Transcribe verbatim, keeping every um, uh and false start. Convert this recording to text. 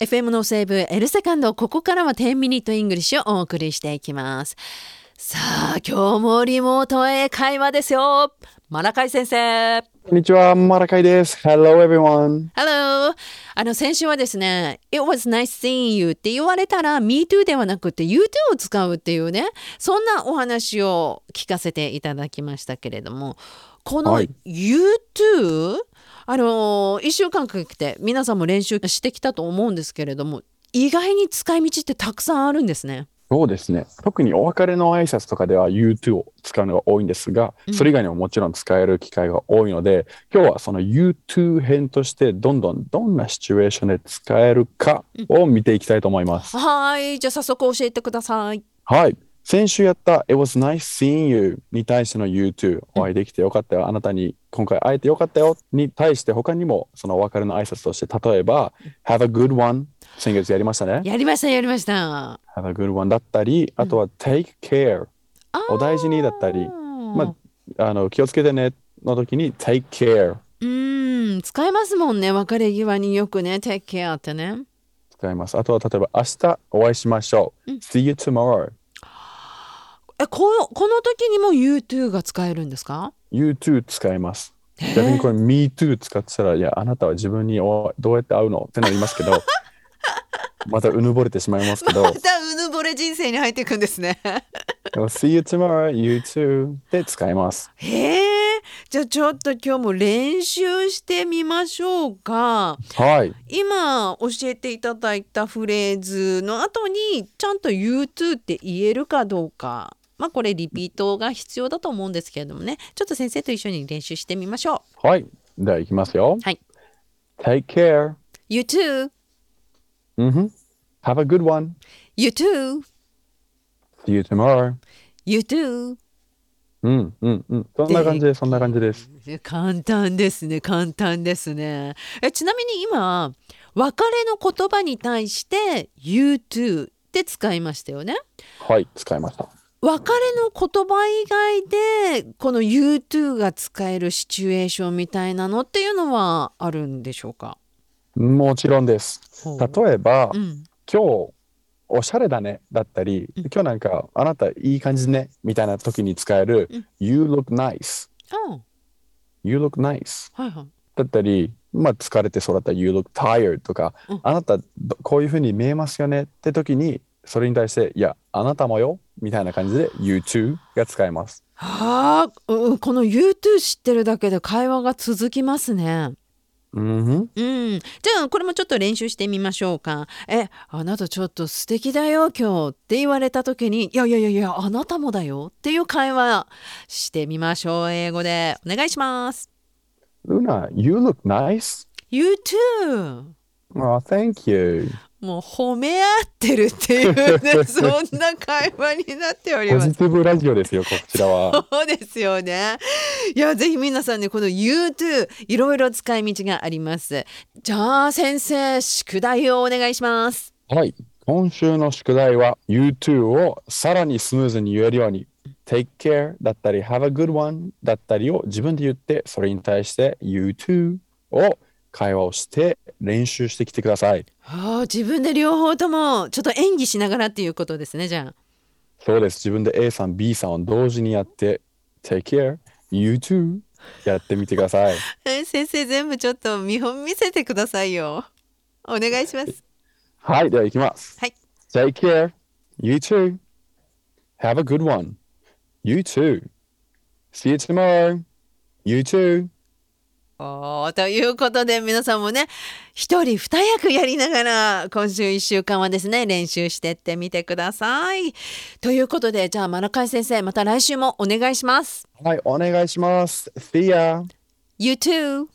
エフエム のセーブ L セカンド、ここからはじゅうミニットイングリッシュをお送りしていきます。さあ、今日もリモート英会話ですよ。マラカイ先生。 こんにちは、マラカイです。Hello everyone. Hello. あの先週はですね、It was nice seeing you って言われたら Me too ではなくて You too を使うっていうね、そんなお話を聞かせていただきましたけれども、このはい。 You too、あのいっしゅうかんかけて皆さんも練習してきたと思うんですけれども、意外に使い道ってたくさんあるんですね。 そうですね。特にお別れの挨拶とかでは You too を使うのが多いんですが、 うん、 それ以外にももちろん使える機会が多いので、今日はその You too 編としてどんどんどんなシチュエーションで使えるかを見ていきたいと思います。 はい、じゃあ早速教えてください。 はい。先週やった It was nice seeing you に対しての You too、お会いできてよかったよ、あなたに今回会えてよかったよに対して他にもそのお別れの挨拶として例えば Have a good one、先月やりましたね。 やりましたやりました。 Have a good one だったり、あとは take care、 あお大事にだったり、まーあ、あの気をつけてねの時に take care うーん、使えますもんね。別れ際によくね、take care ってね。 使います。あとは例えば明日お会いしましょう。 うん、 See you tomorrow。 え、この、この時にも You too が使えるんですか？ You too 使います。 へ逆にこれえ。 Me too 使ってたら、いや、あなたは自分におどうやって会うのってなりますけど、またうぬぼれてしまいますけど、 またうぬぼれ人生に入っていくんですね。 でも See you tomorrow, you too で使います。 へえ。じゃあちょっと今日も練習してみましょうか。 はい。 今教えていただいたフレーズの後にちゃんと You too って言えるかどうか。まあこれリピートが必要だと思うんですけれどもね。ちょっと先生と一緒に練習してみましょう。 はい。では行きますよ。 はい。 Take care. You too. うんふん。Have a good one. You too. See you tomorrow. You too. うんうんうん。そんな感でじです。そんな感じです。 簡単ですね。簡単ですね。え、ちなみに今、別れの言葉に対して You too って使いましたよね。 はい、使いました。 別れの言葉以外でこの You too が使えるシチュエーションみたいなのっていうのはあるんでしょうか？ もちろんです。 ほ例えば、 う。うん。 今日おしゃれだねだったり、 うん。 今日なんかあなたいい感じねみたいな時に使えるうん。 You look nice。 あ You look nice。 あ、はいはい。 だったり、まあ疲れてそうだったら You look tired とか、 うん。 あなたどこういう風に見えますよねって時に、それに対して、いや、あなたもよみたいな感じで You too が使えます。 はあ、うん、この You too 知ってるだけで会話が続きますね。 うんふん。 うん。じゃあこれもちょっと練習してみましょうか。え、あなたちょっと素敵だよ今日って言われた時に、いやいやいやいや、あなたもだよっていう会話してみましょう。英語でお願いします。 Luna, you look nice. You too。 Oh, thank you. もう褒め合ってるっていうね、そんな会話になっておりポます。 ジティブラジオですよ、こちらは。 そうですよね。いや、ぜひ皆さんね、この You too、いろいろ使い道があります。じゃあ先生、宿題をお願いします。 はい。今週の宿題は You too をさらにスムーズに言えるように Take care だったり Have a good one だったりを自分で言って、それに対して You too を会話をして練習してきてください。 はあ、自分で両方ともちょっと演技しながらっていうことですね、じゃあ。 そうです。自分で A さん B さんを同時にやって Take care You too やってみてください。 え、先生全部ちょっと見本見せてくださいよ。お願いします。 はい。では行きます。 はい。 Take care You too Have a good one You too See you tomorrow You too おー、ということで皆さんもね、一人二役やりながら今週一週間はですね、練習してってみてください。ということで、じゃあマラカイ先生、また来週もお願いします。 はい。お願いします。See ya You too!